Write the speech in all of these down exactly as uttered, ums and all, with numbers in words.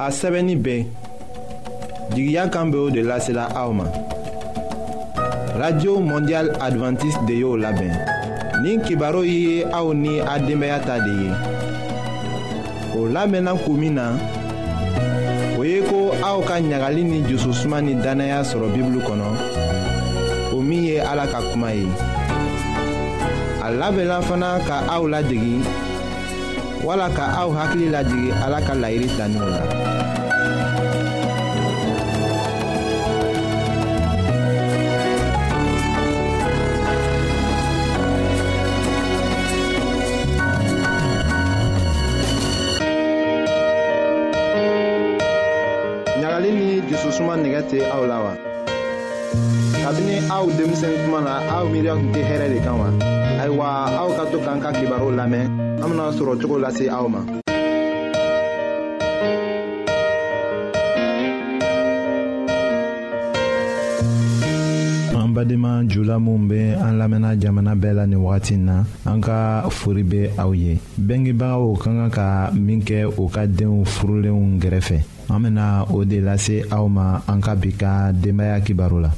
a sɛbɛnni bɛɛ jigiya kan bɛ o de lasela aw ma. Radio Mondial Adventiste de y'o labɛn. Nin kibaru ye aw ni a denbaya ta de ye. O labɛnna kun min na, o ye ko aw ka ɲagali ni jususuma ni danaya sɔrɔ Bibulu kɔnɔ, o min ye Ala ka kuma ye. A labɛnna fana ka aw ladegi, wala ka aw hakili lajigi Ala ka laɲini taninw la. Ɲagali ni jususuma nɛgɛ tɛ aw la wa? Kabini aw denmisɛn kuma na aw miiriya tun tɛ hɛrɛ de kan wa? Ayiwa, aw ka to k'an ka kibaru lamɛn, an bena sɔrɔ cogo lase aw ma. An badenma jula minnu bɛ an lamɛnna jamana bɛɛ la nin wagati na, an ka fori bɛ aw ye. Bɛngebagaw ka kan ka min kɛ u ka denw furulenw gɛrɛfɛ, an bena o de lase aw ma an ka bi ka denbaya kibaru la.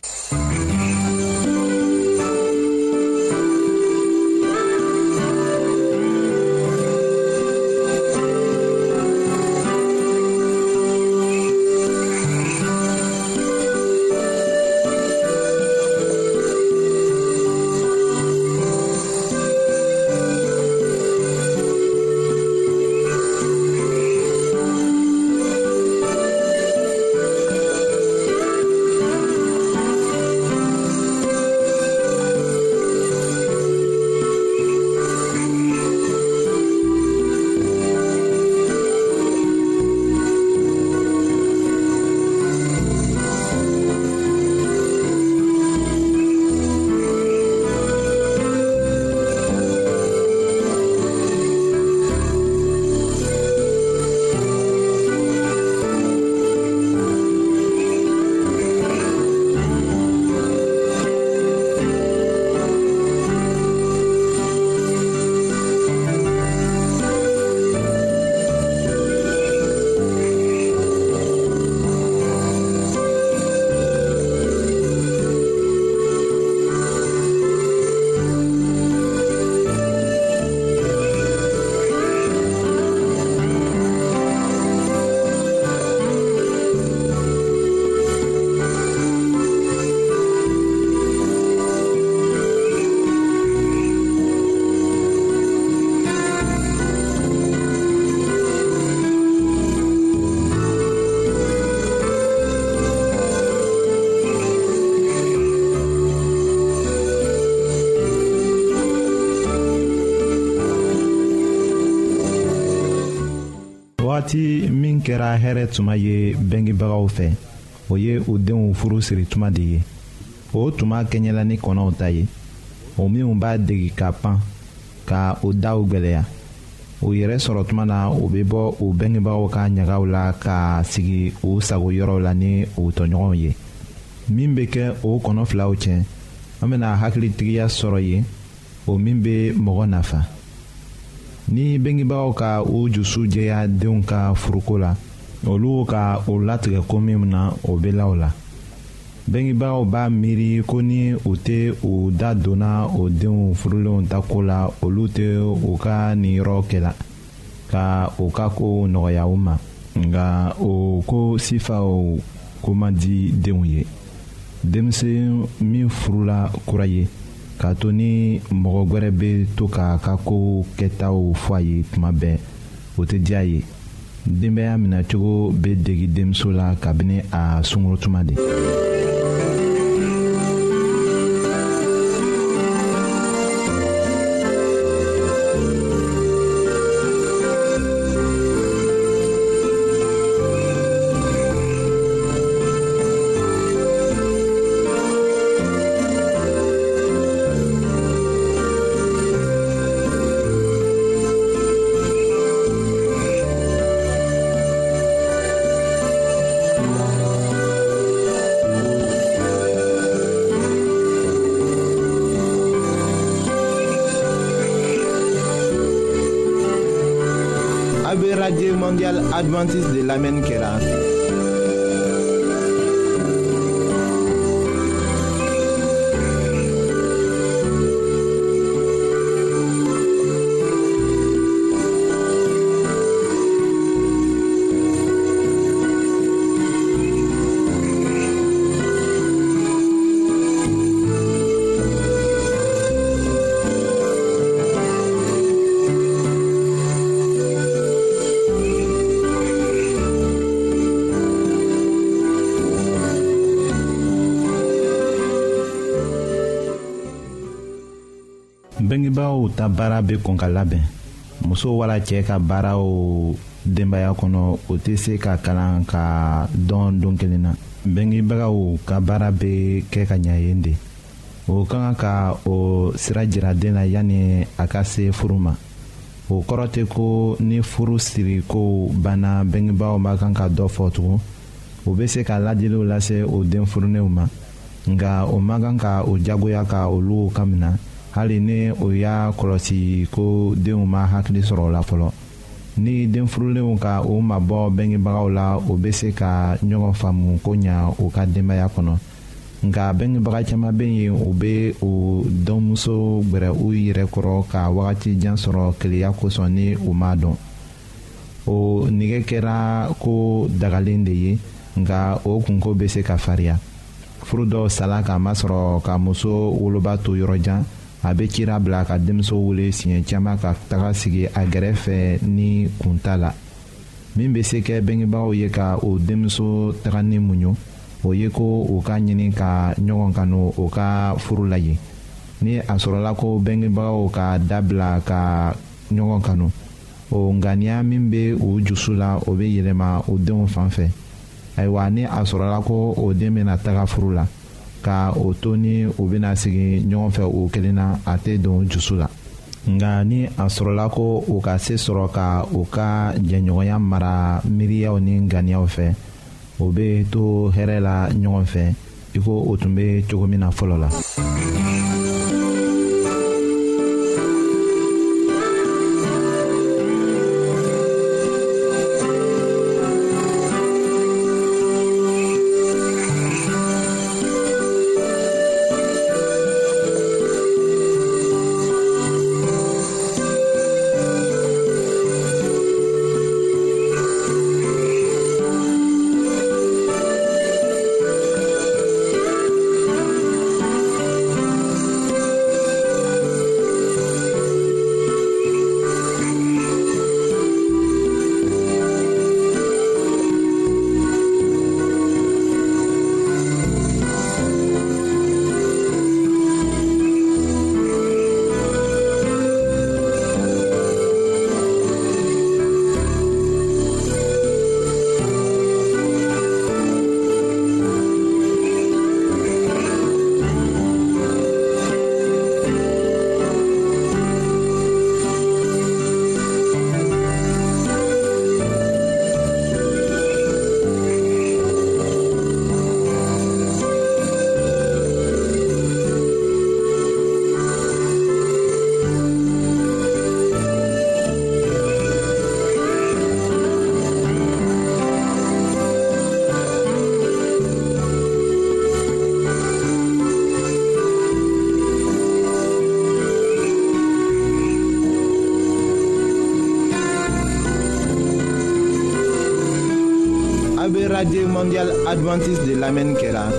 Wagati min kɛra hɛrɛ tuma ye bɛngebagaw fɛ, o ye u denw furu siri tuma de ye. O tuma kɛɲɛla ni kɔnɔw ta ye, o minnu b'a degi ka pan ka o daw gwɛlɛya. O yɛrɛ sɔrɔ tuma na o bɛ bɔ u bɛngebagaw ka ɲagaw la ka sigi u sago yɔrɔw la ni u tɔɲɔgɔnw ye. Min bɛ kɛ o kɔnɔ filaw cɛ, an bɛna hakilitigiya sɔrɔ yen, o min bɛ mɔgɔ nafa. Ni bɛngebagaw ka u jusu jɛya denw ka furuko la, olu ka o latigɛ ko min na o bɛ la o la. Bɛngebagaw b'a miiri ko ni u tɛ u da donna o denw furulenw ta ko la, olu tɛ u ka nin yɔrɔ kɛla ka u ka ko nɔgɔya u ma. Nka o ko sifaw ko man di denw ye. Denmisɛn min furula kura ye, k'a to ni mɔgɔ wɛrɛ bɛ to k'a ka ko kɛtaw fɔ a ye tuma bɛɛ, o tɛ diya ye. Denbaya minɛcogo bɛ degi denmuso la kabini a sunkuru tuma de. Radio Mondiale Adventiste de l'Amen Kela. Bengibaw ta baara bɛ kɔn ka labɛn muso wala cɛ ka baaraw denbaya kɔnɔ o tɛ se ka kalan ka dɔn don kelen na bengebagaw ka baara bɛ kɛ ka ɲɛ yen de o ka kan ka o sira jira den na yanni a ka se furu ma o kɔrɔ tɛ ko ni furu siri ko banna bengebagaw ma kan ka dɔ fɔ tugun o bɛ se ka ladiliw lase o den furunenw ma nka o ma kan ka o jagoya ka olu ka minɛ hali ni o y'a kɔlɔsi ko denw ma hakili sɔrɔ o la fɔlɔ ni den furulenw ka o mabɔ bengebagaw la o bɛ se ka ɲɔgɔn faamu ko ɲa o ka denbaya kɔnɔ nka bengebaga caman bɛ yen o bɛ o dɔnmuso gbɛrɛ u yɛrɛ kɔrɔ ka wagati jan sɔrɔ keleya kosɔn ni u m'a dɔn o nɛgɛ kɛra ko dagalen de ye nka o kunko bɛ se ka farinya furu dɔw sala k'a masɔrɔ ka muso woloba to yɔrɔ jan a bɛ cira bila ka denmuso wele siɲɛ caman ka taga sigi a gɛrɛfɛ ni kunta la min bɛ se kɛ bengebagaw ye ka o denmuso taga ni muɲu o ye ko u ka ɲini ka ɲɔgɔn kanu o ka furu la yen ni a sɔrɔla ko bengebagaw ka dabila ka ɲɔgɔn kanu o ŋaniya min bɛ u jusu la o bɛ yɛlɛma o denw fan fɛ ayiwa ni a sɔrɔla ko o den bɛna taga furu la ka o to ni u bɛna sigi ɲɔgɔn fɛ o kelen na a tɛ don jusu la nka ni a sɔrɔla ko u ka se sɔrɔ ka u ka jɛɲɔgɔnya mara miiriyaw ni ŋaniyaw fɛ o bɛ to hɛrɛ la ɲɔgɔn fɛ i ko o tun bɛ cogo min na fɔlɔ la. Radio Mondiale Adventiste de l'Amen Kela.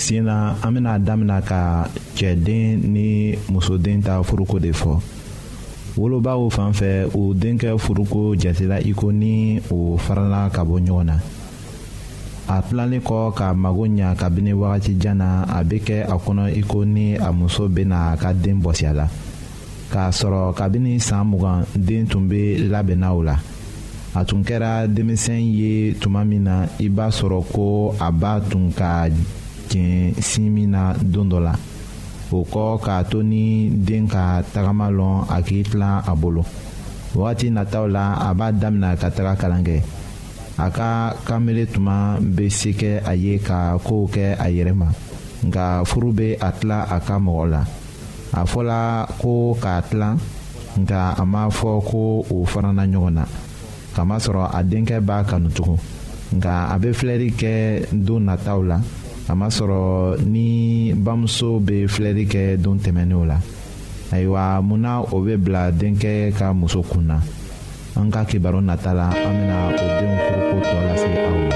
sen na an bena damina ka cɛden ni musoden ta furuko de fɔ. Wolobaw fan fɛ o denkɛ furuko jatela i ko ni o farala ka bɔ ɲɔgɔn na. A tilalen kɔ ka mago ɲa kabini wagati jan na a bɛ kɛ a kɔnɔ i ko ni a muso bɛna a ka den bɔsi a la. K'a sɔrɔ kabini san mugan den tun bɛ labɛnna o la. A tun kɛra denmisɛn ye tuma min na i b'a sɔrɔ ko a b'a tun ka jɛn sin min na don dɔ la. O kɔ k'a to ni den ka tagama lɔn a k'i tilan a bolo. Wagati nataw la a b'a damina ka taga kalan kɛ. A ka kanbele tuma bɛ se kɛ a ye ka kow kɛ a yɛrɛ ma. Nka furu bɛ a tila a ka mɔgɔ la. A fɔla ko k'a tilan nka a ma fɔ ko o farana ɲɔgɔn na. Kamasɔrɔ a denkɛ b'a kanu tugun. Nka a bɛ filɛli kɛ don nataw la. A ma sɔrɔ ni bamuso bɛ filɛli kɛ don tɛmɛnenw la. Ayiwa munna o bɛ bila denkɛ ka muso kun na. An ka kibaru nata la an bɛna o denw furuko tɔ lase aw ma.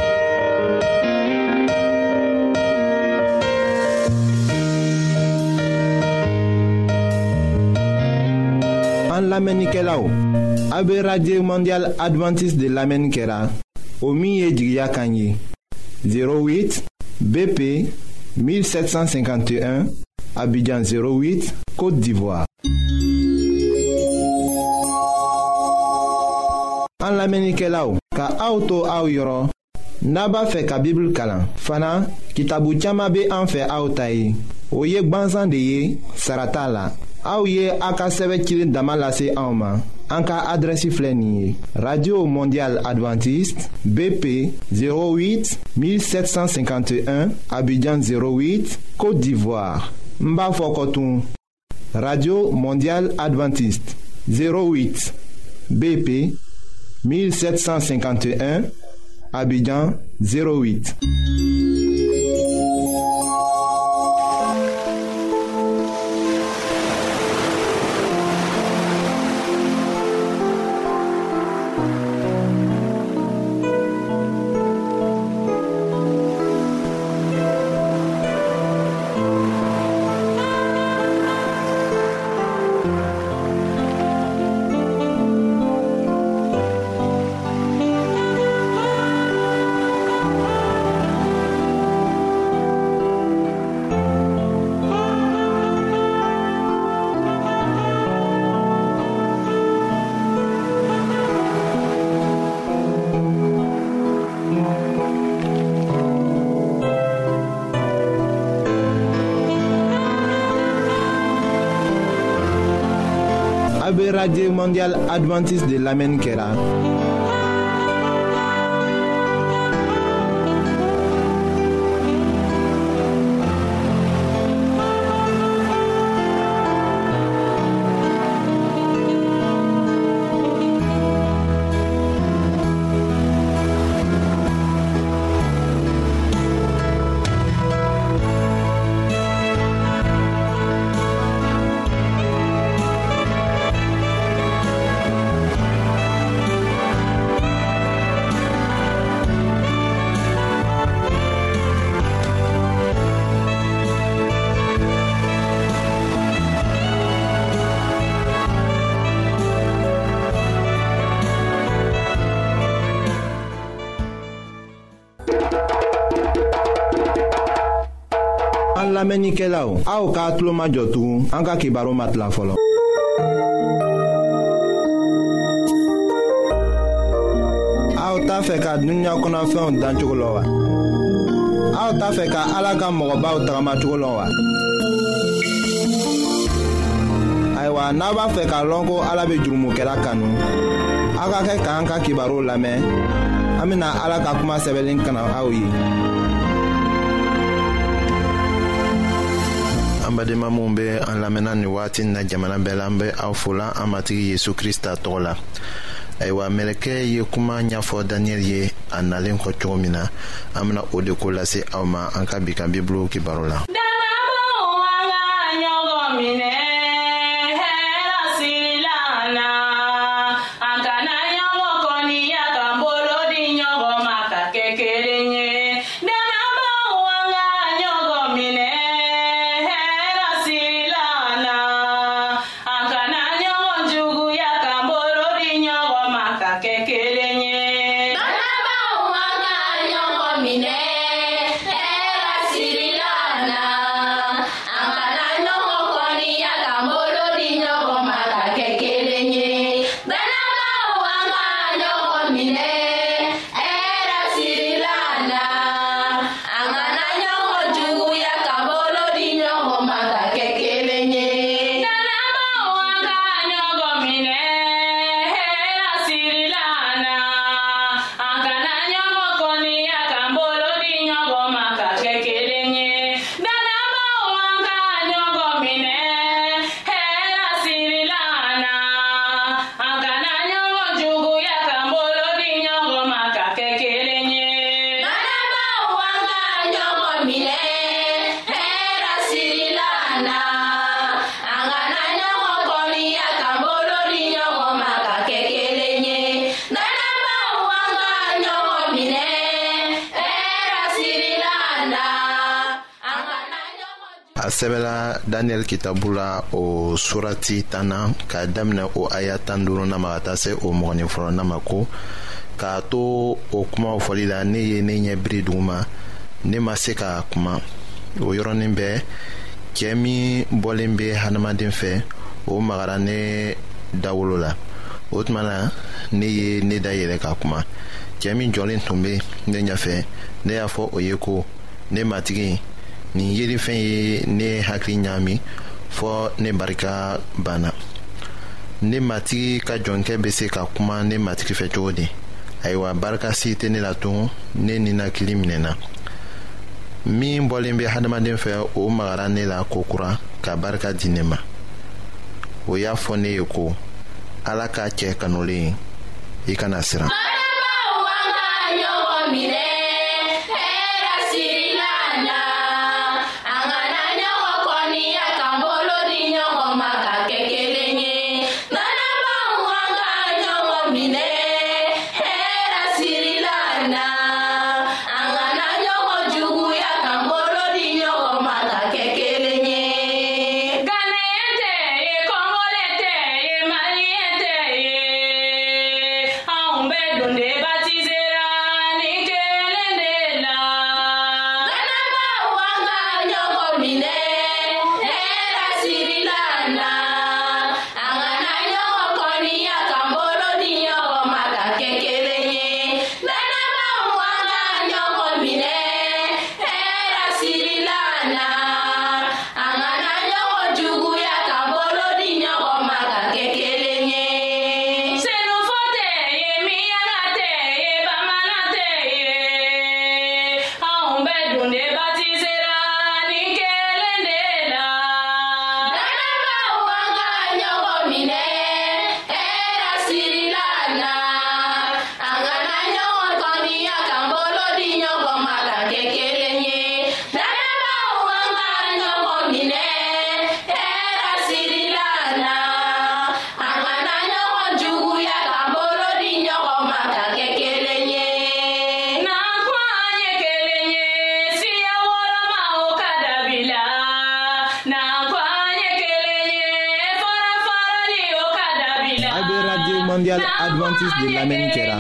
An lamɛnnikɛlaw, a bɛ radio mondial adventiste de lamɛnni kɛra o min ye jigiya kan ye zéro huit B P mille sept cent cinquante et un Abidjan zéro huit Côte d'Ivoire. An lamɛnnikɛlaw, ka aw to aw yɔrɔ n'a b'a fɛ ka Bible kalan fana kitabu caman bɛ an fɛ aw ta ye o ye gwansan de ye sara t'a la. Aw ye a ka sɛbɛn cilen dama lase anw ma. An ka adrɛsi filɛ nin ye radio mondial adventiste B P zéro huit mille sept cent cinquante et un Abidjan zéro huit Côte d'Ivoire. N b'a fɔ kɔtun radio mondial adventiste zéro huit B P mille sept cent cinquante et un Abidjan zéro huit. Radio mondial adventiste de l'Amen Kera. Lamɛnnikɛlaw, aw k'a tulo majɔ tugun an ka kibaru matila fɔlɔ. Aw t'a fɛ ka dunuya kɔnɔfɛnw dan cogo la wa? Aw t'a fɛ ka Ala ka mɔgɔbaw tagama cogo la wa? Ayiwa, n'a b'a fɛ k'a lɔn ko Ala bɛ jurumokɛla kanu, aw ka kɛ k'an ka kibaru lamɛn. An bɛna Ala ka kuma sɛbɛnlen kana aw ye. An badenma minnu bɛ an lamɛnna nin waati in na jamana bɛɛ la, an bɛ aw fola an matigi Yesu Krista tɔgɔ la. Ayiwa, mɛlɛkɛ ye kuma ɲɛfɔ Daniyɛli ye a nalen kɔ cogo min na, an bɛna o de ko lase aw ma an ka bi ka Bibulu kibaru la. a sɛbɛla daniyɛli kitabu la o surati tan na k'a daminɛ o aya tan duurunan ma ka taa se o mɔgɔnin fɔlɔnan ma ko k'a to o kumaw fɔli la ne ye ne ɲɛ biri duguma ne ma se ka kuma o yɔrɔnin bɛɛ cɛɛ min bɔlen bɛ hadamaden fɛ o magara ne dawolo la o tuma na ne ye ne da yɛlɛ ka kuma cɛɛ min jɔlen tun bɛ ne ɲɛfɛ ne y'a fɔ o ye ko ne matigi nin yelifɛn ye ne hakili ɲaami fɔ ne barika banna ne matigi ka jɔnkɛ bɛ se ka kuma ne matigi fɛ cogo di ayiwa barika si tɛ ne la tun ne ninakili minɛna min bɔlen bɛ hadamaden fɛ o magara ne la kokura ka barika di ne ma o y'a fɔ ne ye ko ala k'a cɛ kanulen i kana siran. Mondial Adventiste de l'Amérique kɛra.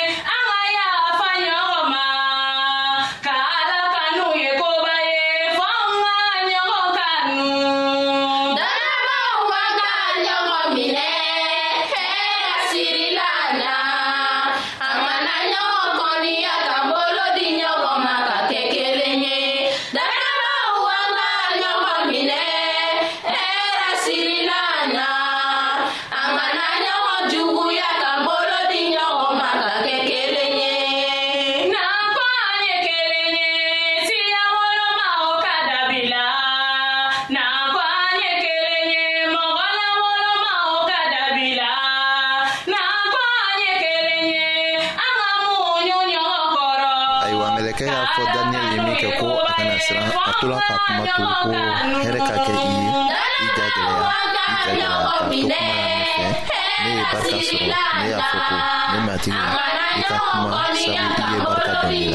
Mɛlɛkɛ y'a fɔ Daniyɛli ye min kɛ ko a kana siran a tola ka kuma to ko hɛrɛ ka kɛ i ye i ja gɛlɛya i ja gɛlɛya ka to kuma la ne fɛ ne ye barika sɔrɔ ne y'a fɔ ko ne matigi i ka kuma sabu i ye barika dɔn ne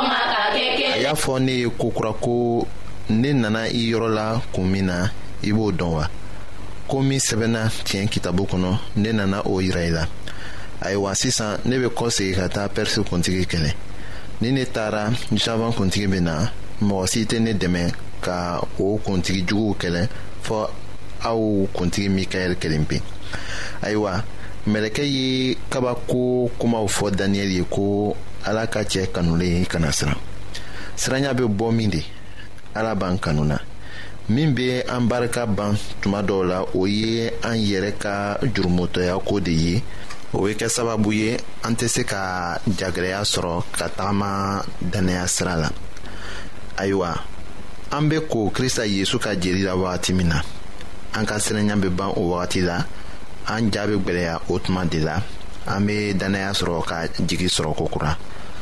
la a y'a fɔ ne ye kokura ko ne nana i yɔrɔ la kun min na i b'o dɔn wa ko min sɛbɛnna tiɲɛ kitabu kɔnɔ ne nana o yira i la ayiwa sisan ne bɛ kɔsegin ka taa Pɛrisi kuntigi kɛlɛ ni ne taara Javan kuntigi bɛ na mɔgɔ si tɛ ne dɛmɛ ka o kuntigi juguw kɛlɛ fɔ aw kuntigi Mikaɛli kelen pe ayiwa mɛlɛkɛ ye kabako kumaw fɔ Daniyɛli ye ko ala ka cɛ kanulen kana siran siranya bɛ bɔ min de ala b'an kanu na min bɛ an barika ban tuma dɔw la o ye an yɛrɛ ka jurumutɔya ko de ye o bɛ kɛ sababu ye an tɛ se ka jagɛlɛya sɔrɔ ka tagama dannaya sira la ayiwa an bɛ ko Kirista Yesu ka jeli la wagati min na an ka siranya bɛ ban o wagati la an ja bɛ gwɛlɛya o tuma de la an bɛ dannaya sɔrɔ ka jigi sɔrɔ kokura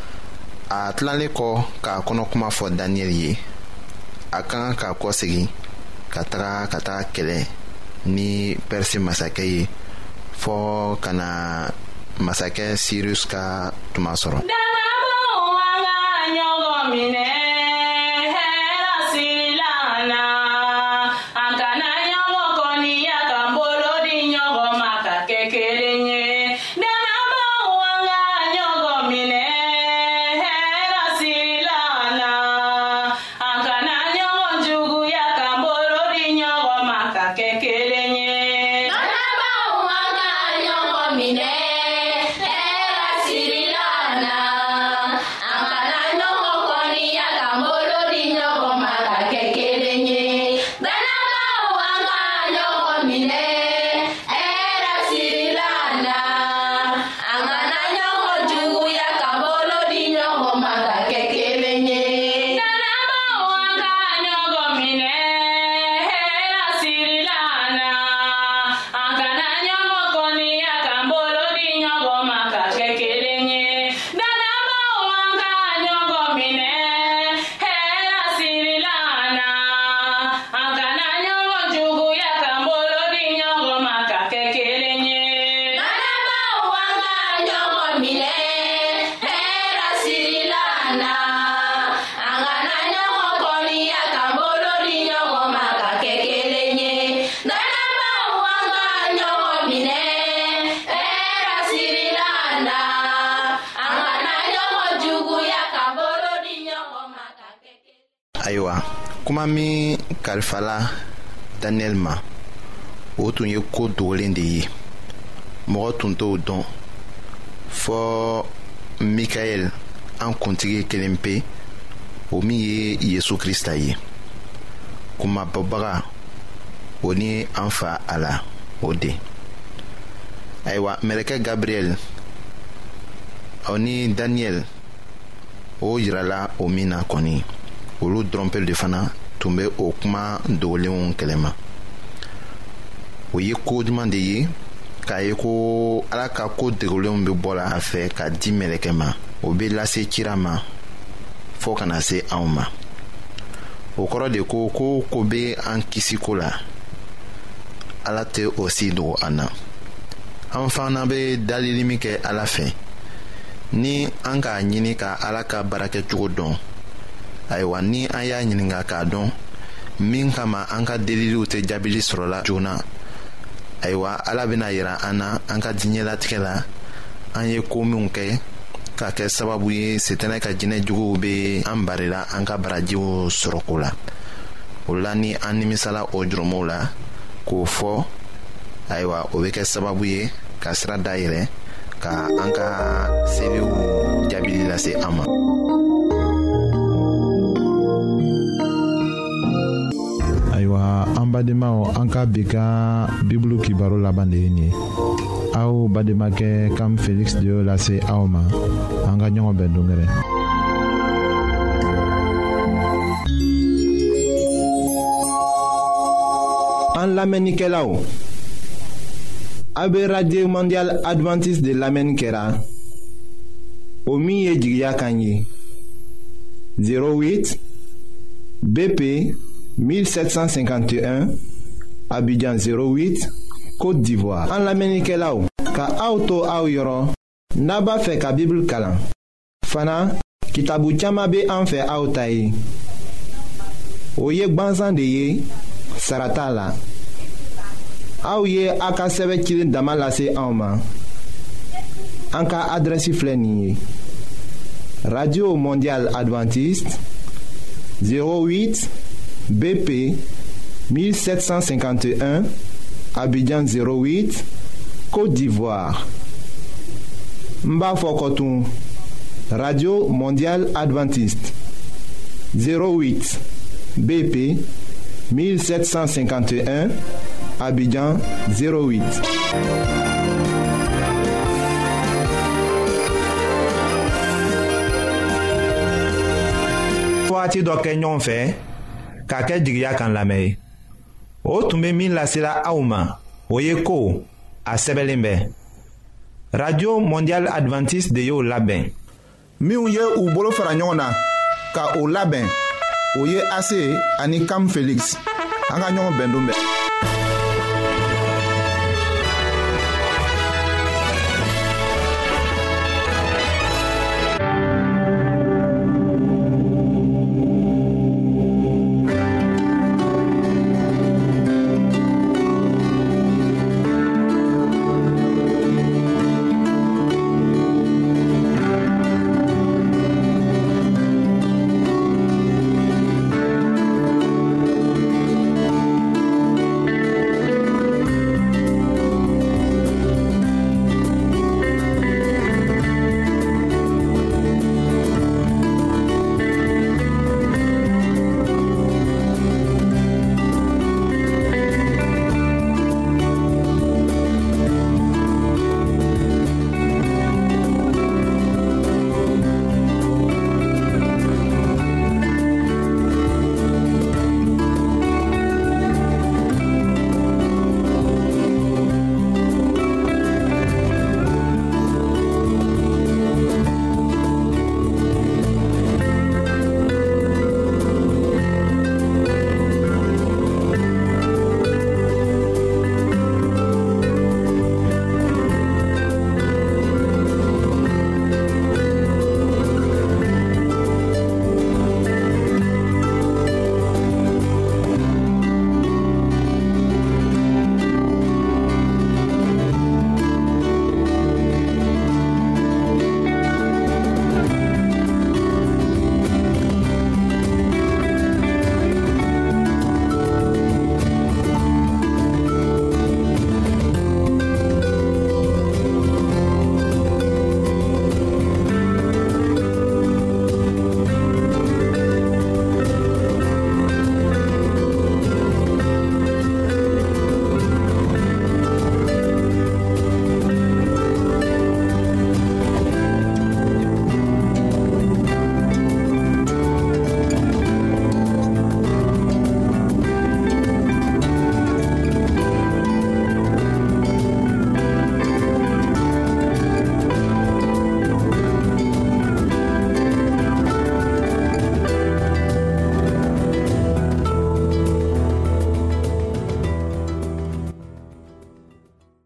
a tilalen kɔ k'a kɔnɔkuma fɔ Daniyɛli ye a ka kan k'a kɔsegin ka taga ka taga kɛlɛ ni Pɛrisi masakɛ ye fɔ ka na masakɛ Sirus ka tuma sɔrɔ. Minɛ hɛrɛ sirila la ayiwa kuma min kalifala Daniel ma o tun ye ko dogolen de ye mɔgɔ tun t'o dɔn fɔ Mikael an kuntigi kelen pe o min ye Yesu Krista ye kumabɔbaga o ni an fa a la o de ayiwa mɛlɛkɛ Gabriel o ni Daniel o yirala o min na kɔni olu dɔrɔn pe de fana tun bɛ o kuma dogolenw kɛlɛma o ye ko juman de ye k'a ye ko Ala ka ko dogolenw bɛ bɔla a fɛ ka di mɛlɛkɛ ma o bɛ lase cira ma fɔ kana se anw ma o kɔrɔ de ko ko ko bɛ an kisi ko la Ala tɛ o si dogo an na an fana bɛ dalili min kɛ Ala fɛ ni an k'a ɲini ka Ala ka baarakɛcogo dɔn ayiwa ni an y'a ɲininka k'a dɔn min kama an ka deliliw tɛ jaabili sɔrɔla joona ayiwa Ala bɛna yira an na an ka diɲɛlatigɛ la an ye ko minw kɛ ka kɛ sababu ye Sitana ka jinɛjuguw bɛ an barila an ka barajiw sɔrɔko la o la ni an nimisala o jurumow la k'o fɔ ayiwa o bɛ kɛ sababu ye ka sira dayɛlɛ ka an ka sebew jaabili lase an ma. Ayiwa an badenmaw an ka bi ka bibulu kibaro laban de ye nin ye aw bademakɛ Kam Felix de y'o lase aw ma an ka ɲɔgɔn bɛn dongɛrɛ. An lamɛnnikɛlaw a bɛ Radio Mondial Adventiste de lamɛnni kɛra o min ye jigiya kan ye zéro huit B P mille sept cent cinquante et un Abidjan zéro huit Côte d'Ivoire. An lamɛnnikɛlaw ka aw to aw yɔrɔ n'a b'a fɛ ka Bible kalan fana kitabu caman bɛ an fɛ aw ta ye o ye gwanzan de ye sara t'a la aw ye a ka sɛbɛn cilen dama lase anw ma an ka adrɛsi filɛ nin ye Radio Mondial Adventiste zéro huit B P mille sept cent cinquante et un Abidjan zéro huit Côte d'Ivoire. N b'a fɔ kɔtun Radio Mondial Adventiste zéro huit B P mille sept cent cinquante et un Abidjan zéro huit. Waati dɔ kɛ ɲɔgɔn fɛ k'a kɛ jigiya kan lamɛn ye o tun bɛ min lasela aw ma o ye ko a sɛbɛnlen bɛ Radio Mondial Adventiste de y'o labɛn minnu ye u bolo fara ɲɔgɔn na ka o labɛn o ye A C ani Kam Felix an ka ɲɔgɔn bɛn don bɛɛ.